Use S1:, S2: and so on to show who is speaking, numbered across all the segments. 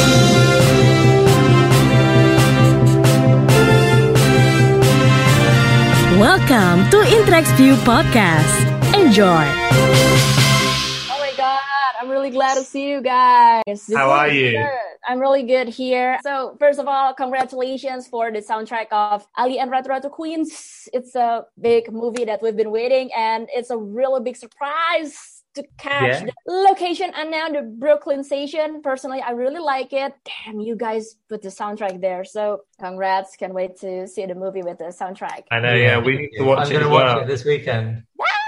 S1: Welcome to Interact View Podcast. Enjoy.
S2: Oh my God, I'm really glad to see you guys.
S3: How are you?
S2: I'm really good here. So first of all, congratulations for the soundtrack of Ali and Ratu Ratu Queens. It's a big movie that we've been waiting, and it's a really big surprise to catch the location and now the Brooklyn station. Personally, I really like it. Damn, you guys put the soundtrack there. So congrats. Can't wait to see the movie with the soundtrack.
S3: I know, yeah. We need to watch it as well.
S4: I'm going to watch it this weekend.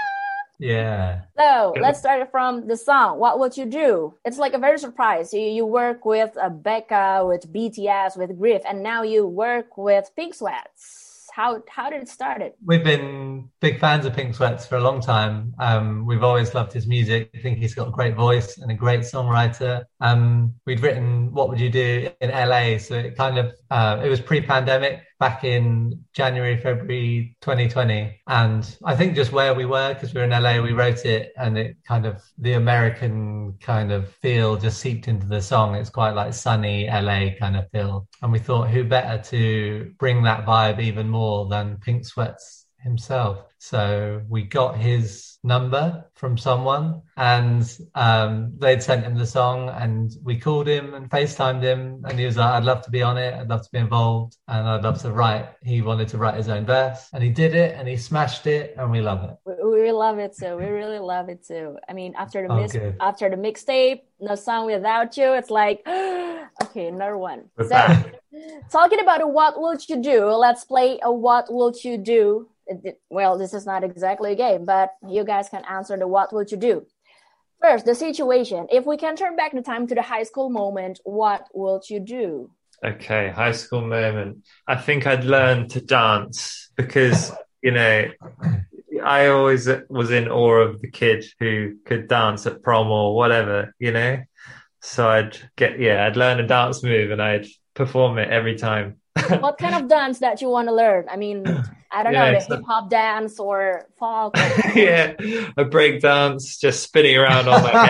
S4: Yeah.
S2: So let's start from the song. What would you do? It's like a very surprise. You work with Becca, with BTS, with Griff, and now you work with Pink Sweats. How did it start?
S4: We've been big fans of Pink Sweats for a long time. We've always loved his music. I think he's got a great voice and a great songwriter. We'd written What Would You Do in LA, so it kind of it was pre-pandemic, back in January, February 2020. And I think just where we were, because we were in LA, we wrote it, and it kind of, the American kind of feel just seeped into the song. It's quite like sunny LA kind of feel. And we thought, who better to bring that vibe even more than Pink Sweats himself? So we got his number from someone, and they'd sent him the song, and we called him and FaceTimed him, and he was like, I'd love to be on it, I'd love to be involved, and I'd love to write. He wanted to write his own verse, and he did it, and he smashed it, and we love it.
S2: We love it too. We really love it too. I mean, after the mixtape, No Song Without You, it's like, okay, another one. Talking about what would you do, let's play a what would you do. Well, this is not exactly a game, but you guys can answer the what would you do. First, the situation. If we can turn back the time to the high school moment, what would you do?
S3: Okay, high school moment. I think I'd learn to dance because, you know, I always was in awe of the kid who could dance at prom or whatever, you know. So I'd learn a dance move and I'd perform it every time.
S2: What kind of dance that you want to learn? I mean, I don't know, the hip-hop dance or folk?
S3: Yeah, a break dance, just spinning around on my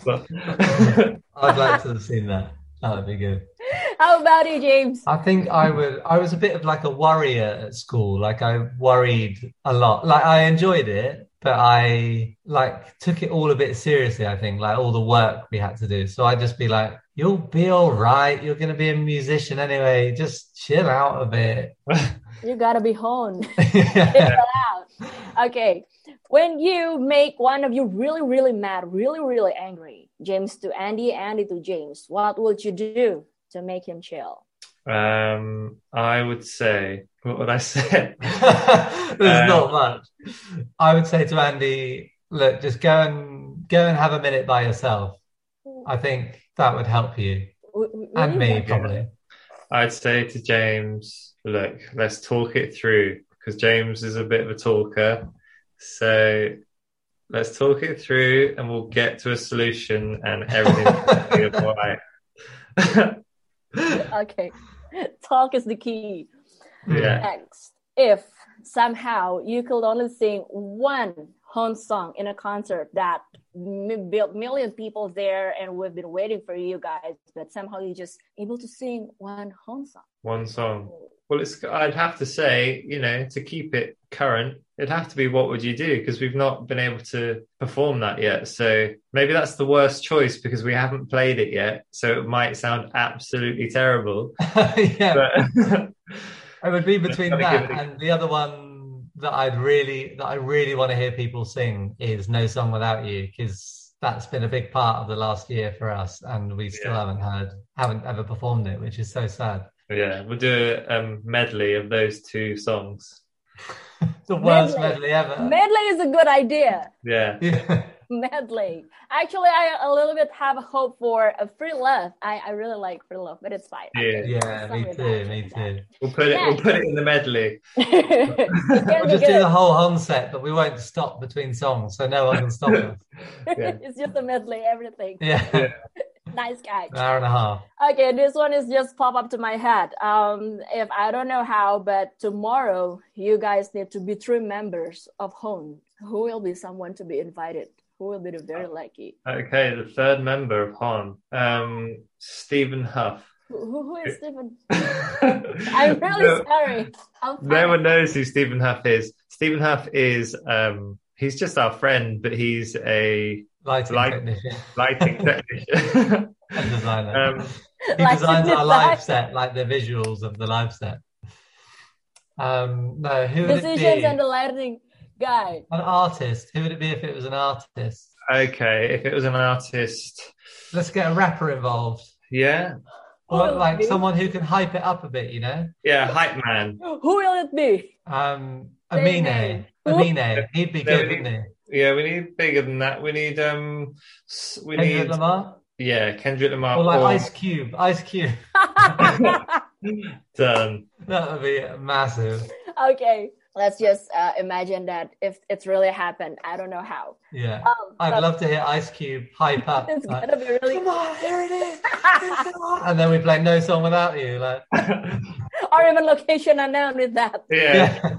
S3: head.
S4: I'd like to have seen that. That would be good.
S2: How about you, James?
S4: I think I was a bit of like a worrier at school. Like I worried a lot. Like I enjoyed it, but I like took it all a bit seriously, I think, like all the work we had to do. So I'd just be like, you'll be all right. You're going to be a musician anyway. Just chill out a bit.
S2: You got to be honed. Chill out. Okay. When you make one of you really, really mad, really, really angry, James to Andy, Andy to James, what would you do to make him chill?
S3: I would say, what would I say?
S4: There's not much. I would say to Andy, look, just go and have a minute by yourself. I think that would help you. And me, probably.
S3: I'd say to James, look, let's talk it through, because James is a bit of a talker. So let's talk it through and we'll get to a solution and everything's going to be all right.
S2: Okay. Talk is the key.
S3: Yeah.
S2: Next, if somehow you could only sing one home song in a concert that built million people there and we've been waiting for you guys, but somehow you're just able to sing one home song.
S3: One song. Well, I'd have to say, you know, to keep it current, it'd have to be What Would You Do? Because we've not been able to perform that yet. So maybe that's the worst choice because we haven't played it yet. So it might sound absolutely terrible.
S4: Yeah. But it would be between that and the other one that I really want to hear people sing is No Song Without You, because that's been a big part of the last year for us and we still haven't ever performed it, which is so sad.
S3: Yeah, we'll do a medley of those two songs.
S4: The worst medley ever.
S2: Medley is a good idea.
S3: Yeah.
S2: Medley. Actually, I a little bit have a hope for a Free Love. I really like Free Love, but it's fine.
S4: Yeah, me too.
S3: We'll put it in the medley.
S4: We'll just do the whole home set, but we won't stop between songs, so no one can stop us.
S2: Yeah. It's just a medley, everything.
S4: Yeah.
S2: Nice catch.
S4: An hour and a half.
S2: Okay, this one is just pop up to my head. If I don't know how, but tomorrow you guys need to be 3 members of Hone. Who will be someone to be invited? Who will be the very lucky?
S3: Okay, the third member of Hon, Stephen Huff.
S2: Who is Stephen? I'm really sorry.
S3: No one knows who Stephen Huff is. Stephen Huff is he's just our friend, but he's a
S4: lighting technician.
S3: And
S4: designer. He designs our live set, like the visuals of the live set. No, who would it be?
S2: Decisions and the lighting guy.
S4: An artist. Who would it be if it was an artist?
S3: Okay, if it was an artist.
S4: Let's get a rapper involved.
S3: Yeah.
S4: Or like someone who can hype it up a bit, you know?
S3: Yeah, hype man.
S2: Who will it be?
S4: Amine. He'd be good, wouldn't he?
S3: Yeah, we need bigger than that. We need
S4: Kendrick Lamar?
S3: Yeah, Kendrick Lamar.
S4: Or like Ice Cube.
S3: Done.
S4: That would be massive.
S2: Okay, let's just imagine that if it's really happened. I don't know how.
S4: Yeah, I'd love to hear Ice Cube hype up.
S2: It's gonna be really.
S4: Come on, here it is. And then we play No Song Without You, like.
S2: Or even Location Unknown with that.
S3: Yeah.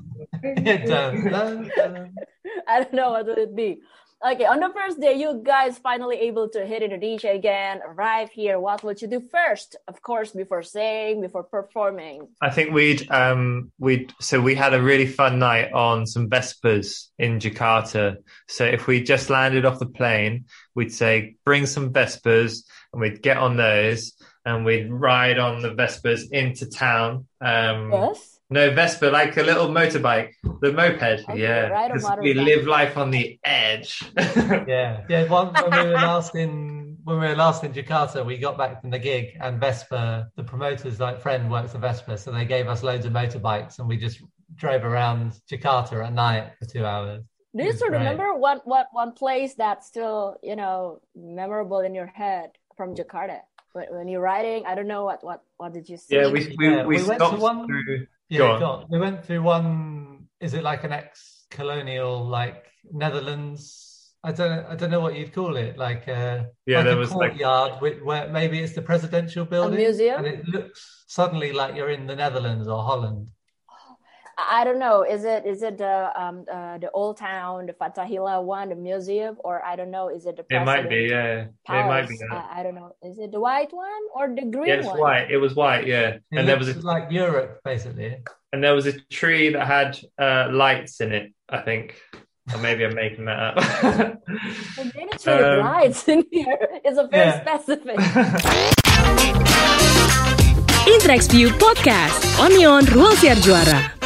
S2: I don't know what would it be. Okay, on the first day, you guys finally able to hit Indonesia again, arrive here. What would you do first? Of course, before performing.
S3: I think we had a really fun night on some Vespas in Jakarta. So if we just landed off the plane, we'd say, bring some Vespas, and we'd get on those and we'd ride on the Vespas into town.
S2: Yes.
S3: No, Vespa, like a little motorbike, the moped. Okay, yeah, we live life on the edge.
S4: yeah. When we were last in Jakarta, we got back from the gig, and Vespa, the promoter's friend works at Vespa, so they gave us loads of motorbikes, and we just drove around Jakarta at night for 2 hours.
S2: Do you still remember one place that's still memorable in your head from Jakarta? When you're riding, I don't know what did you see?
S3: Yeah, we stopped through.
S4: Yeah, we went through one. Is it like an ex-colonial, Netherlands? I don't know what you'd call it. There was courtyard where maybe it's the presidential building,
S2: a museum,
S4: and it looks suddenly like you're in the Netherlands or Holland.
S2: I don't know. Is it the old town, the Fathahillah one, the museum, or I don't know? Is it the
S3: It might be, yeah.
S2: Palace?
S3: It might be that.
S2: I don't know. Is it the white one or the green one?
S3: Yeah, it's white. It was white, yeah.
S4: And there was like Europe, basically.
S3: And there was a tree that had lights in it, I think. Or maybe I'm making that up.
S2: Well, maybe it's really lights in here. It's a very specific.
S1: Interact View Podcast. Onion Rules Juara.